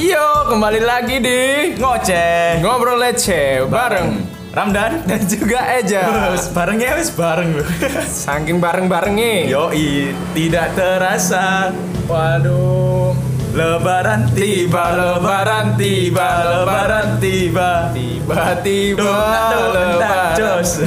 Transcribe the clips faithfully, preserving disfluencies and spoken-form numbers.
Yo, kembali lagi di Ngoceh Ngobrol Lece bareng Ramdan dan juga Eja. Terus barengnya wis bareng loh. Saking bareng-barengnya. Yoi, tidak terasa. Waduh. Lebaran tiba, lebaran tiba, lebaran tiba. Tiba-tiba Lebaran lebaran. jos.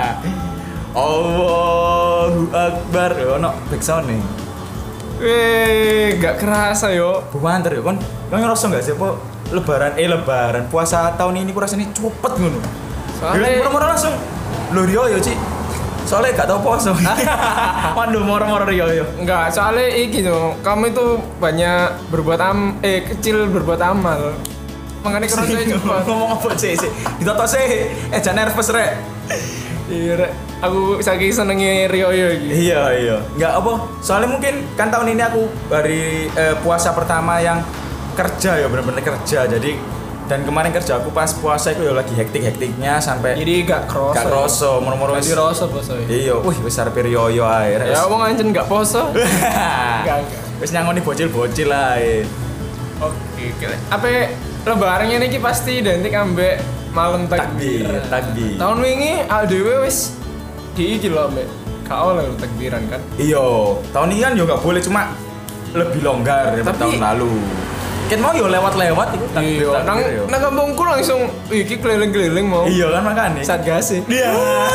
Allahu Akbar. Ono back sound nih. Weh, gak kerasa yo. Buanter ya kon. Kon ngerasa enggak sih apa lebaran eh lebaran puasa tahun ini ku rasanya cepet ngono. Soalnya- Ya, moro-moro langsung lho Rio yo, Ci. Soalnya gak tau poso. Waduh, moro-moro Rio yo. Enggak, soalnya iki tuh, kamu itu banyak berbuat am eh kecil berbuat amal. Makanya kerasanya cepat. Ngomong apa sih sih? Ditoto sih. Eh jangan nervous rek. Iya, Rek. Aku saking senengnya Rio yo iki. Iya iya. Enggak apa? Soalnya mungkin kan tahun ini aku hari eh, puasa pertama yang kerja ya bener-bener kerja. Jadi dan kemarin kerja aku pas puasa itu ya lagi hektik-hektiknya sampai Jadi gak kroso. gak kroso, moro-moro Jadi wis. rasa poso ya. Iya, wih wis arep riyo-yo ae. Rek. Ya wong ancen gak poso. Enggak, enggak. Wis nyangoni bocil-bocil ae. Oke, oke. Apa lebarannya niki pasti identik ambek malam takbir. Takbir, takbir. Tahun wingi A D W wis di iki lho ambek gak oleh lho takbiran kan. Iya, tahun ini kan yo gak boleh cuma lebih longgar daripada Tapi- tahun lalu. Kan mau yo lewat-lewat iku takbir. Iya, nang takbir yo. nang kampungku langsung iki keliling-keliling mau. Iya kan makane. Satgas sih. Iya.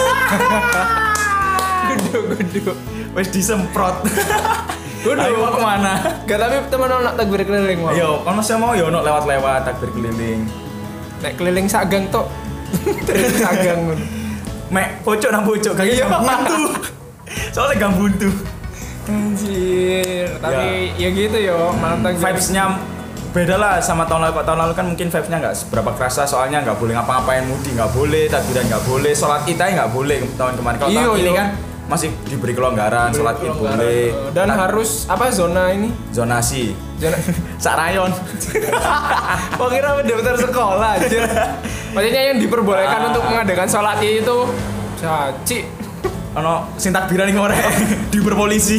Gudu-gudu. Wis disemprot. Gudu. Ayo mau kemana? Gak tapi temen nak takbir keliling mau. Iya, kan masih mau yo ono lewat-lewat takbir keliling. Nek keliling sagang tok. Terus sagang ngono. Mek pojok nang pojok gak iya buntu. Soalnya gak buntu. Anjir, tapi ya, gitu yo, malam takbir. Vibes-nya beda lah sama tahun lalu. Tahun lalu kan mungkin vibes-nya nggak seberapa kerasa soalnya nggak boleh ngapa-ngapain, mudi nggak boleh, takbiran nggak boleh, sholat id nggak boleh tahun kemarin. Kalau Iya, tahun ini iya. kan masih diberi kelonggaran, sholat id boleh. Dan Tak- harus apa zona ini? zonasi. Zona Sak rayon. Kok kira daftar sekolah aja. Maksudnya yang diperbolehkan Ah. untuk mengadakan sholat itu caci. Ono sing takbiran ning ngorek diuber polisi.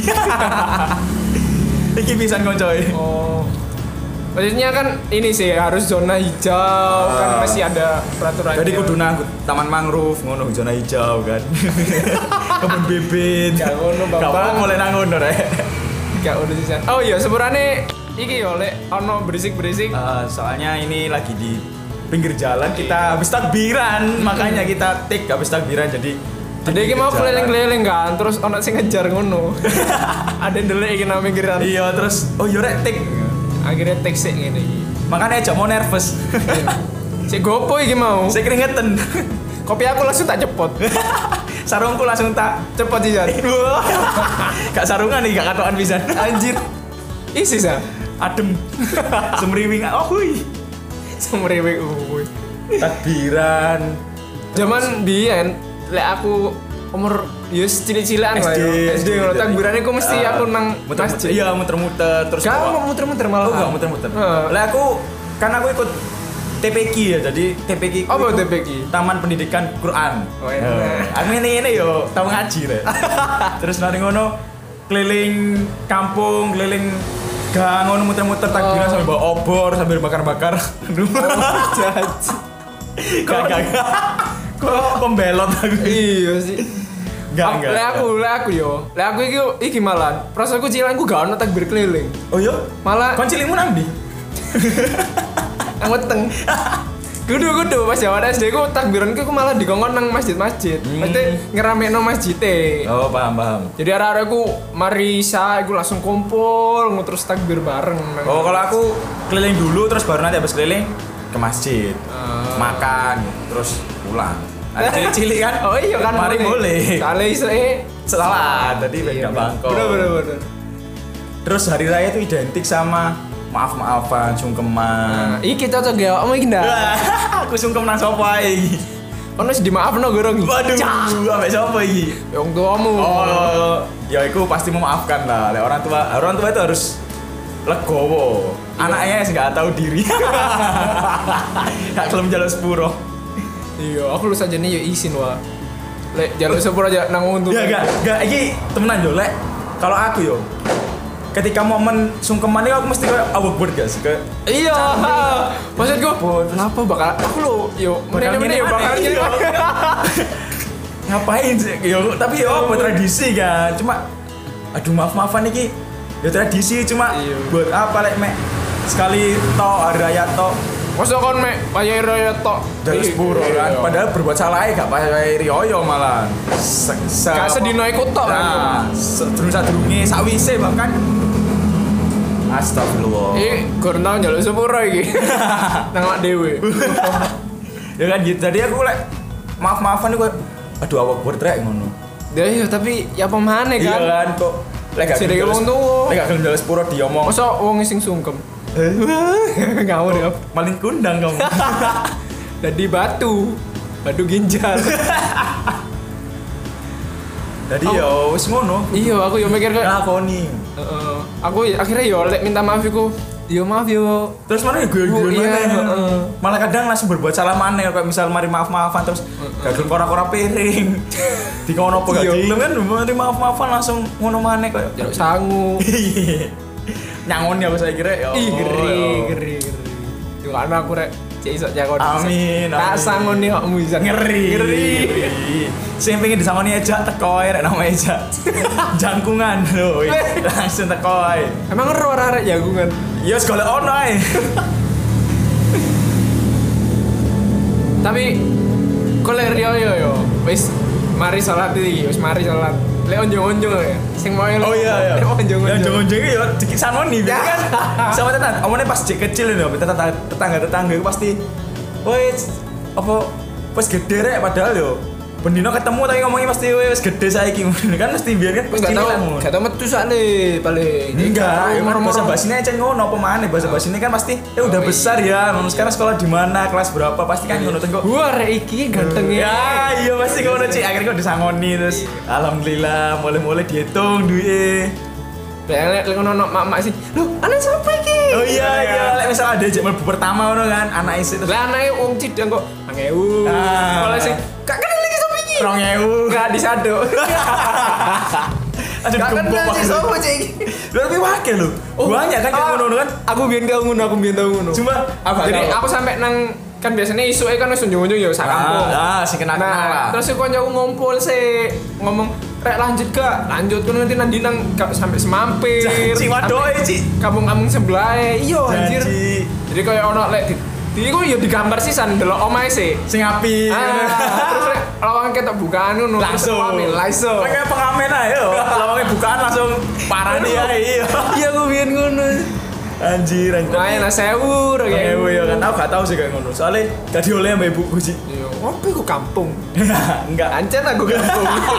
Iki pisan koncoy. Oh. Maksudnya kan ini sih harus zona hijau kan Ah. masih ada peraturannya. Jadi kudu nang taman mangrove ngono zona hijau kan. Kebun bibit. Gak ngono, Bang. Gak apa mulai nang ngono rek. Gak udah sih. Oh iya sepurane iki yo lek ono berisik-berisik. Uh, soalnya ini lagi di pinggir jalan kita habis takbiran makanya kita take habis takbiran jadi di Jadi iki pinggir mau jalan. keliling-keliling kan, terus ono sing ngejar ngono. Ada yang ndelok iki nang pinggiran. Iya terus oh iya rek take Akhirnya tek sik ngene iki. makanya aja mau nervous. Sik gopo iki mau. Saya keringetan. Kopi aku langsung tak cepot. Sarungku langsung tak Cepot sih Jan. gak sarungan nih gak katokan pisan. Anjir. Isi sa. Adem. Semriwing oh hui. Semrewek uy. Takbiran. Zaman biyen lek aku umur ya cilik-cilikan lah ya. S D ngono takbirane ku mesti Ah, aku nang muter-muter. masjid. Iya muter-muter terus Gak bawa- mau muter-muter malah. Oh enggak muter-muter. Heeh. Lah aku kan aku ikut T P Q ya, jadi T P Q ku Apa itu T P Q? Taman Pendidikan Quran. Oh, iya. Eh, Aku ini ini yo tau ngaji rek. Terus nari ngono keliling kampung, keliling gang ngono muter-muter takbiran Oh. sambil bawa obor, sambil bakar-bakar. Aduh. Jaji. Gak gak. gak. Kok pembelot aku. Iya sih. Enggak Aku- enggak. Lek aku, lek aku yo. Lek aku iki iki malah. Prasaku cilanku gak ono takbir keliling. Oh iya? Malah Kon cilikmu nang ndi? nang weteng. Kudu-kudu pas jaman S D ku takbiranku ku malah dikongkon nang masjid-masjid. Hmm. Mesti ngeramekno masjid e. Oh, paham paham. Jadi arek-arek ku mari sa iku langsung kumpul terus takbir bareng. nang- Oh, kalau aku keliling dulu terus baru nanti habis keliling ke masjid. Ah. Makan, terus pulang. Ada cilik-cilik kan? Oh iya kan Mari boleh. Kali iso e Salah, tadi Iya, beda bangkok. Bener bener bener. Terus hari raya itu identik sama maaf-maafan, Nah, sungkeman. iki cocok ya, om iki ndak. Wah, aku sungkem nang sapa iki? Ono wis dimaafno gorong. Waduh, ambek sapa iki? Wong tuamu. Oh, ya itu pasti memaafkan lah. Lek orang tua, orang tua itu harus legowo. Anaknya sih nggak tahu diri. Gak kelem jalan sepuro. Iya, aku lu saja nih yo isin wah. Lek jaluk sepur aja nang untuk. Ya gak, gak, iki temenan yo lek. Kalau aku yo ketika momen sungkeman itu aku mesti kayak awkward gak sih kayak Iya. Maksudku, kenapa bakal aku lo yo bakal meneh-meneh yo bakal gini gini. ngapain sih yo tapi yo apa tradisi kan cuma aduh maaf-maafan iki ya tradisi cuma Iya. buat apa lek mek sekali to hari raya to Masa kon mek payah raya tok dari sepuro kan padahal berbuat salah gak payah rioyo malah se, se Gak sedino ikut tok nah sedurung-sadurunge sakwise bahkan astagfirullah Eh, gor tau njaluk sepuro iki. Nang awak dhewe. ya kan gitu jadi aku lek maaf-maafan iku aduh awak bertrek ngono Ya iya tapi ya pemane iya kan. kan kok lek gak Sing wong tuwa. lek gak gelem njaluk sepuro diomong Masa wong sing sungkem. Ngawur ya. maling kundang kamu Dadi batu. Batu ginjal. jadi yo wis ngono Iya, aku yo mikir kayak lakoni heeh. Aku akhirnya yo lek minta maaf iku. Yo maaf yo. terus mana ya gue Oh, gue iya, mana heeh. malah kadang langsung berbuat salah mana kayak misal mari maaf maafan terus gak gelem kora-kora piring di kono apa gak Iya. gelem kan mari maaf maafan langsung ngono mana kayak Jaluk sangu. nyangon ya aku saya kira ya Ih, Allah, geri, ya. geri, geri. Yo ana aku rek cek iso jakon. Amin, Tak amin. sangoni kokmu bisa ngeri Ngeri. sing pengen disangoni aja teko ae rek nama aja jangkungan lho langsung teko ae Emang ero arek jagungan. ya segala ono ae Tapi koler yo yo yo wis mari salat iki, wis mari salat. Lek onjong-onjong ya. Sing mau oh iya iya Lek onjong-onjong. ya jongon-jongon ya dikit sanoni biar kan sama tetan omongnya pas cek kecil lho tetangga tetangga itu pasti woi apa pas gede rek padahal yo bendino ketemu tapi ngomongnya pasti wis gede saiki kan mesti biar kan Wis pasti gak tau, ngono. gak tau metu sakne paling. Enggak, ya kan moro-moro. bahasa basinya aja ngono apa maneh bahasa basine kan pasti eh udah Oh, besar ya. Ngono sekarang sekolah di mana, kelas berapa pasti kan ngono tengko. Gua rek iki ganteng Ya, iya pasti ngono Cik. Akhirnya kok disangoni terus alhamdulillah mulai-mulai dihitung duwe. Lek lek ngono mak-mak sih. Lho, anak sapa iki? Oh iya iya, lek misal ada jek mlebu pertama ngono kan, anak isi terus Lah anake wong cidang kok dua ribu. Ah. Kalau sing gak kenal lagi sapa iki? dua ribu. Gak disado. Ada Gak gembok kenal sih sapa cik iki. Lu lebih wakil lu. Banyak kan yang ngono kan. Aku biyen tau ngono, aku biyen tau ngono. Cuma apa? Jadi aku sampai nang kan biasanya isuke kan wis unjung-unjung ya sak kampung. Ah, sing kenal-kenal lah. Nah, terus si koncoku ngumpul sih ngomong, "Rek lanjut gak? Lanjut kan nanti nanti nang gak sampai semampir." Janji, wadoke, Ci. Kampung-kampung sebelah. Iya anjir. Janji. Jadi kayak ono lek di di iku ya digambar sisan delok omahe sih. Sing api. Ah, terus lek lawang ketok bukaan ngono terus Langsung. pamit, langsung. Kayak pengamen aja yo. Lawangnya bukaan langsung parah nih ya. Iya. Iya aku biyen ngono. Anjir, anjir. Main lah sewu Kayak kayak gue ya kan, aku gak tau sih kayak ngono. Soalnya gak dioleh sama ibuku sih. Iya, apa iku kampung? Enggak. Ancen aku kampung.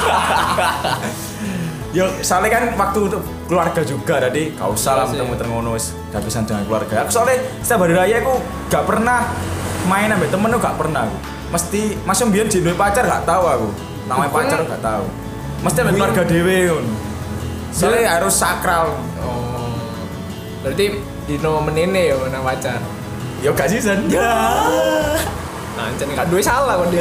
Yo, soalnya kan waktu untuk keluarga juga, jadi gak usah lah Iya sih. muter-muter ngono wis kehabisan dengan keluarga. Aku soalnya setiap hari raya aku gak pernah main sama temen aku gak pernah aku. Mesti masih biyen jenenge pacar gak tahu aku. Namanya Bukan. pacar gak tahu. Mesti sama Bukan. keluarga dhewe ngono. Soalnya Iya. harus sakral. Oh. Berarti dino menene ya nang pacar. Yo gak season. Ya. Ancen gak duwe salah kok dia.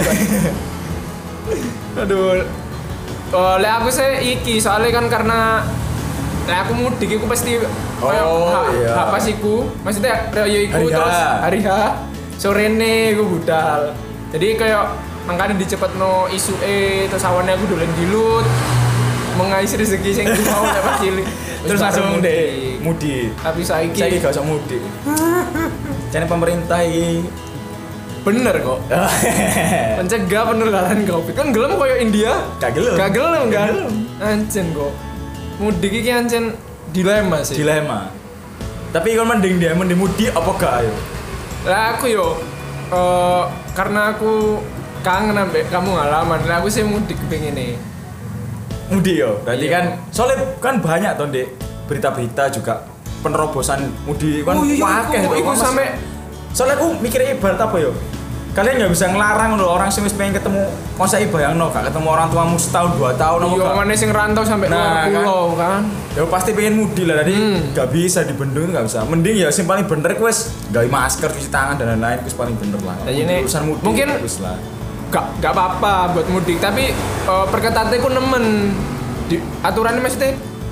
Aduh. Oh, lek aku sih iki soalnya kan karena lek aku mudik iku pasti kayak Oh, ha- iya. ha pas iku, maksudnya raya iku Hari H. terus hari H sorene iku budal. Jadi kayak makanya dicepetno isuke terus awane aku dolen dilut mengais rezeki sing mau lek pas cilik. Terus langsung mudik. deh mudik. Tapi saiki Saya gak usah mudik. Jadi pemerintah ini bener kok. Mencegah penularan Covid. Kan gelem koyo India. Gak gelem. Gak gelem Gak kan? gelem. Ancen kok. Mudik iki ancen dilema sih. dilema. Tapi kalau mending dia mending mudik apa gak ayo? Lah aku yo eh, karena aku kangen ambek kamu ngalaman. Lah aku sih mudik pengen nih. Mudik yo. Berarti Iya. kan soalnya kan banyak tuh Dek berita-berita juga penerobosan mudik kan Oh iya, wakeh iku- tuh. iku Mas- sampe- soalnya aku mikirnya ibarat apa yo? Kalian nggak bisa ngelarang loh orang sih pengen ketemu masa bayang no gak ketemu orang tuamu setahun dua tahun apa Iya, gak? mana sing rantau sampai Nah, luar kan. pulau kan. Ya pasti pengen mudik lah tadi Hmm. nggak bisa dibendung nggak bisa. Mending ya sing paling bener kuis gawe masker cuci tangan dan lain-lain kuis paling bener lah. Nah, ini urusan mudik mungkin- wis lah. Gak gak apa-apa buat mudik, tapi uh, perketatnya ku nemen. Di, aturannya maksudnya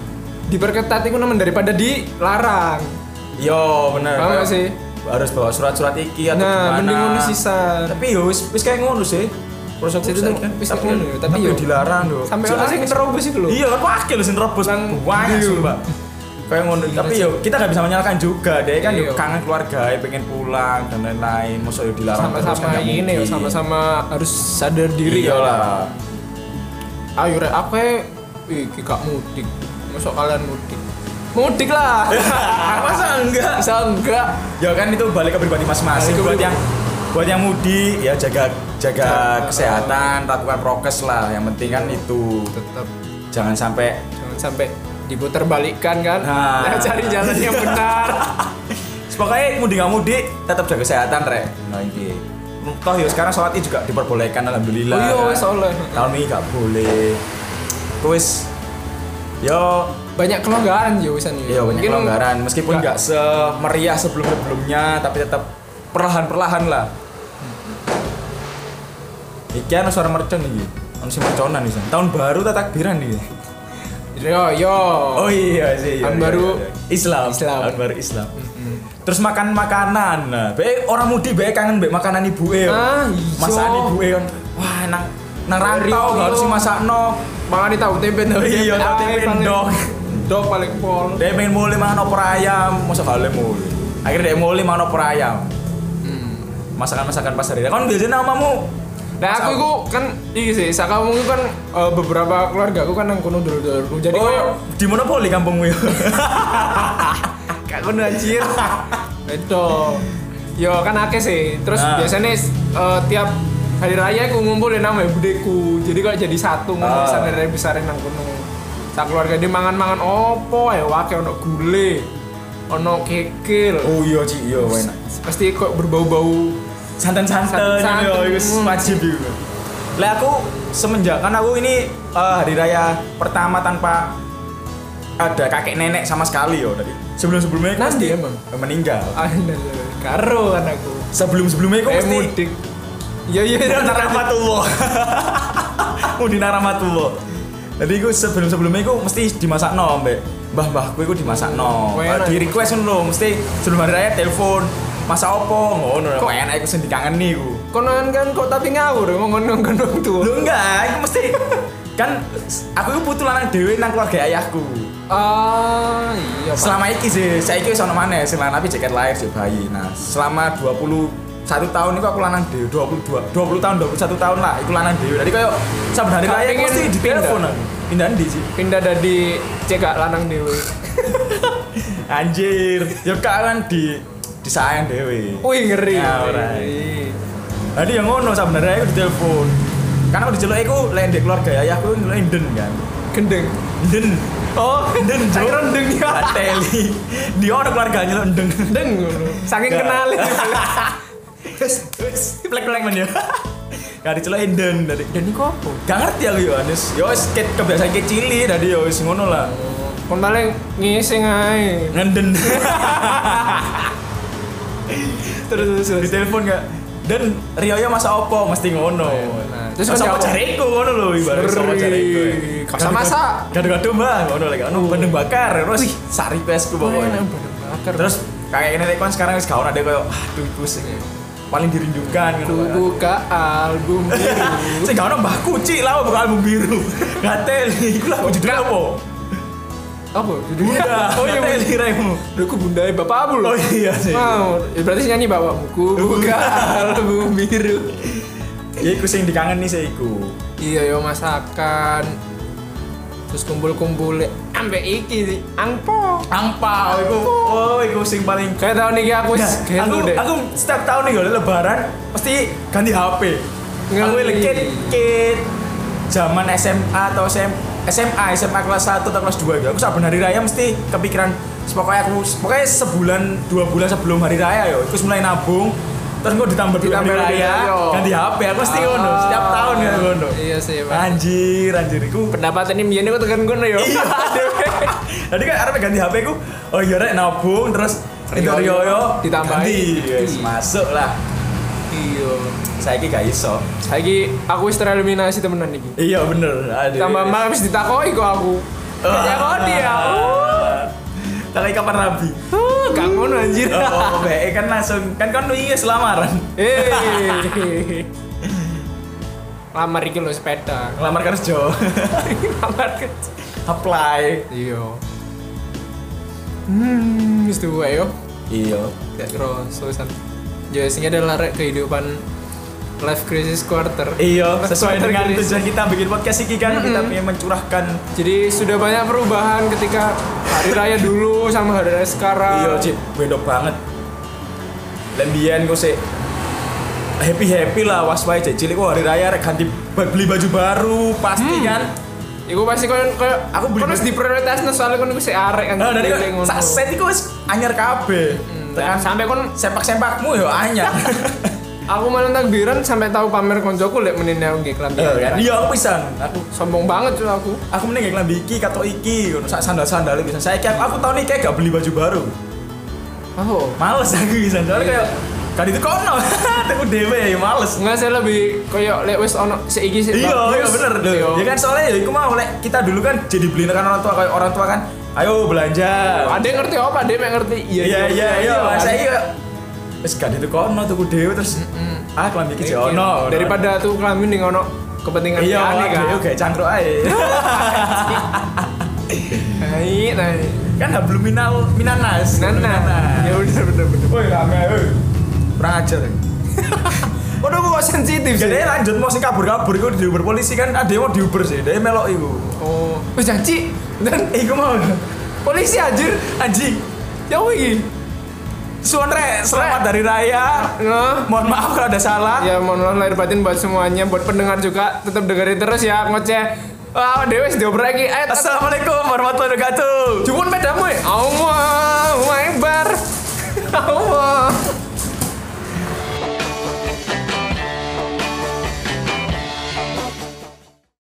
diperketat itu nemen daripada dilarang. Yo bener. Paham gak sih? Harus bawa surat-surat iki atau Nah, gimana. mending ngono sisan. Tapi yo wis wis kayak ngono sih. Proses Jadi saya tuh, kan wis tapi ngono ya, tapi tapi yo dilarang lho. Sampai ono sing nerobos iku lho. Iya kan wakil sing nerobos Nang banyak ndi, sih, yo. Mbak. Kayak ngono. Tapi yo kita gak bisa menyalahkan juga. Dia kan yo Iya. kangen keluarga, pengen pulang dan lain-lain. Masa yo dilarang terus Sama-sama kan gak ini yo, mungkin. sama-sama harus sadar diri Iya ya. lah. Ayo rek aku e iki gak mudik. Masuk kalian mudik. Mudik lah. Masa enggak? Bisa enggak? Ya kan itu balik ke pribadi masing-masing. Balik ke Buat pribadi. yang buat yang mudik ya jaga jaga kesehatan, lakukan prokes lah. Yang penting kan itu Tetap jangan sampai jangan sampai diputar balikkan kan. Nah. Nah, cari jalan yang benar. pokoknya mudik nggak mudik tetap jaga kesehatan rek. Nah ini toh ya sekarang sholat Id juga diperbolehkan alhamdulillah. Oh iya kan. wis oleh. Tahun ini nggak boleh. Terus yo Banyak kelonggaran ya wisan ya. iya banyak Mungkin kelonggaran meskipun nggak- nggak semeriah sebelum sebelumnya tapi tetap perlahan-perlahan lah. Iki ana suara mercon iki. Ono sing merconan iki. Tahun baru ta takbiran iki. Yo yo. Oh iya sih. iya, Tahun iya, baru iya. Islam. Islam. Tahun baru Islam. Terus makan makanan. Nah, bae orang mudik bae kangen bae makanan ibuke. Ah, iya. Masakan ibuke kan. Wah, nang nang rantau Rio, gak harus Rio. sing masakno. Makan di tahu tempe tahu Iya, tahu tempe, paling- ndok. Ndok paling pol. Dia pengen mulai mangan opor ayam, masa kale mulai. Akhirnya dia mulai mangan opor ayam. Hmm. Masakan-masakan pasar dia. Kan biasanya namamu. Nah aku itu kan iki sih, sakamu itu kan eh, beberapa keluarga aku kan nang kono dulu-dulu. Jadi Oh, koyo di monopoli kampungmu ya. gak kono anjir. Beto. Yo kan akeh sih. Terus Nah. biasanya eh, tiap hari raya aku ngumpulin nama budeku. Jadi kok jadi satu ngono Ah. besar dari besarin nang kono. Sak keluarga dia mangan-mangan opo ya wake ono gule. Ono kekil. Oh iya Ci, iya enak. Pasti kok berbau-bau Santan-santan Santan-santan. yo iku Hmm. wajib iku. Lah aku semenjak kan aku ini eh, hari raya pertama tanpa ada kakek nenek sama sekali yo tadi. Sebelum-sebelumnya aku Nanti mesti emang? meninggal. Aduh, karo kan aku. Sebelum-sebelumnya aku Eh mesti mudik. Iya iya iya. Mudik rahmatullah. Mudik rahmatullah. Jadi aku sebelum-sebelumnya aku mesti dimasak no, mbak. Mbah-mbahku itu dimasak no. Oh, enak. Di request ngono, mesti sebelum hari raya telepon. Masak opo ngono. Kok- Kok enak aku sing dikangeni iku. Konon kan kok tapi ngawur ngomong ngomong tuh. Lho enggak, aku mesti kan aku itu putu lanang dhewe nang keluarga ayahku. Ah iya. Pak. Selama iki sih, saiki wis ono maneh sing lanang tapi jaket lahir sih bayi. Nah, selama dua puluh satu tahun itu aku lanang dhewe, dua puluh dua, dua puluh tahun, dua puluh satu tahun lah iku lanang dhewe. Jadi koyo saben hari Gak raya pengen mesti ditelepon pindah. aku. Pindah ndi sih? Pindah dari cekak lanang dewe. Anjir, ya kak kan di disayang dhewe. Wih ngeri. Ya, ora. ngeri. Jadi yang ngono sebenarnya aku ditelepon. Karena aku diceluk iku lek ndek keluarga ayahku ndelok Inden kan. Gendeng. Inden. Oh, Inden saya kira ndeng ya. Teli. Dia orang keluarganya nyeluk Endeng. Ndeng ngono. Saking Gak. kenal. Wes, wes, plek-plek men ya. Gak diceluk Inden dari. Dan iku apa? Gak ngerti aku ya, Anis. Ya wis ket kebiasaan kecili tadi ya wis ngono lah. Kon paling ngising ae. Ngenden. Terus terus. terus. Ditelepon gak? Dan Rioyo masa opo mesti ngono. Nah, terus Terus kan sama jawab. cariku ngono lho ibarat sama cariku. Masa masak. Gado-gado Mbak, ngono lek ono bandeng bakar terus sari pesku pokoknya. Bakar. Terus kayak ini kon sekarang wis gaun ada koyo aduh pusing. Paling dirindukan Ku ngono. buka album biru. Sing gaun Mbah Kuci lah bukan album biru. Gatel iku lah judulnya apa? Apa? Judulnya? Oh iya Bunda. raimu. Udah ku bunda bapakmu loh. Oh iya sih. Mau, ya berarti nyanyi bapakmu. Ku buka album biru. Ya iku sing dikangen nih saya iku. Iya yo masakan. Terus kumpul-kumpul ambek iki sih. Angpo. Angpau iku. Oh iku sing paling Kayak tahun ini aku Nah, gelo aku, deh. aku setiap tahun nih kalau lebaran pasti ganti H P. Aku Ngerti. lekit kit zaman S M A atau S M S M A, S M A kelas satu atau kelas dua gitu. Aku saben hari raya mesti kepikiran pokoknya aku pokoknya sebulan dua bulan sebelum hari raya yo aku mulai nabung terus gue ditambah dulu hari Ditambah raya yo. ganti H P aku mesti ngono setiap tahun ya ngono. Iya sih, Pak. Anjir, anjir iku. Pendapat ini biyen aku tekan kono yo. Iya. Tadi kan arep ganti H P ku. Oh iya rek nabung terus itu Riyoyo, Riyoyo ditambahin. ganti. Yes, masuk lah. Iya. Saiki gak iso. Saiki aku wis tereliminasi temenan iki. Iya bener. Aduh. Tambah malah wis ditakoki kok aku. Kayak kode ya. Tak kayak kapan rabi. Uh, gak ngono anjir. Oh, bae kan langsung kan kan iya selamaran. Eh. Lamar iki lho sepeda. Ngelamar kerja. Lamar kerja. Apply. Iya. Hmm, wis tuwa yo. Iya. Gak kira sosan. Ya sing adalah rek kehidupan life crisis quarter. Iya, sesuai Quarter dengan crisis. tujuan kita bikin podcast ini kan Mm-mm. kita pengen mencurahkan. Jadi sudah banyak perubahan ketika hari raya dulu sama hari raya sekarang. Iya, Cip, beda banget. Dan biyen kok sih happy happy lah was wae cek cilik kok hari raya rek ganti beli baju baru pasti Hmm. kan. Iku pasti koyo koyo Aku beli- kono harus diprioritasno soalnya kono iku sik arek kan. Nah, dari Kayak ngono. kok sak set iku wis anyar kabeh. Tekan sampai kon Sempak-sempakmu yo anyar. aku malah takbiran sampai tahu pamer koncoku lek menine aku nggih klambi. Iya kan? Iya aku pisan. Aku Sombong banget tuh aku. aku mending nggak klambi iki katok iki ngono sak sandal-sandal bisa. Saya kayak aku tahun ini kayak gak beli baju baru. Oh. Males aku bisa. Soalnya kayak kan itu kono. Aku dhewe ya males. Enggak saya lebih koyo lek wis ono seiki sik Iya, bagus. iya bener. Iya. Ya kan soalnya ya iku mau lek kita dulu kan jadi beli kan orang tua kayak orang tua kan ayo belanja. Ada yang ngerti apa? Ada yang mek ngerti. Iya iya iya iya. kan? Saya iya. Wis gak itu kono tuku dhewe terus ah klambi iki Mikir. ono. Daripada tuh kelamin ning ono kepentingan iya aneh kan. kan. Kayak cangkruk ae. Hai, hai. Kan hablum minal minanas. Nana. Ya bener bener bener. Woi rame woi. Kurang ajar. Waduh kok sensitif sih. Jadi lanjut mau sing kabur-kabur iku di Uber polisi kan ada yang mau di Uber sih. Dia melok iku. Oh, wis janji. Dan Iku mau polisi anjir. anjing. Ya wih. Suan rek, selamat dari raya. Nah, Mohon maaf kalau ada salah. ya mohon maaf lahir batin buat semuanya, buat pendengar juga tetap dengerin terus ya ngoceh. Wah, dewe wis diobrek iki. Ayo, Assalamualaikum warahmatullahi wabarakatuh. cuman pedamu ya. Allah, Akbar. Allah.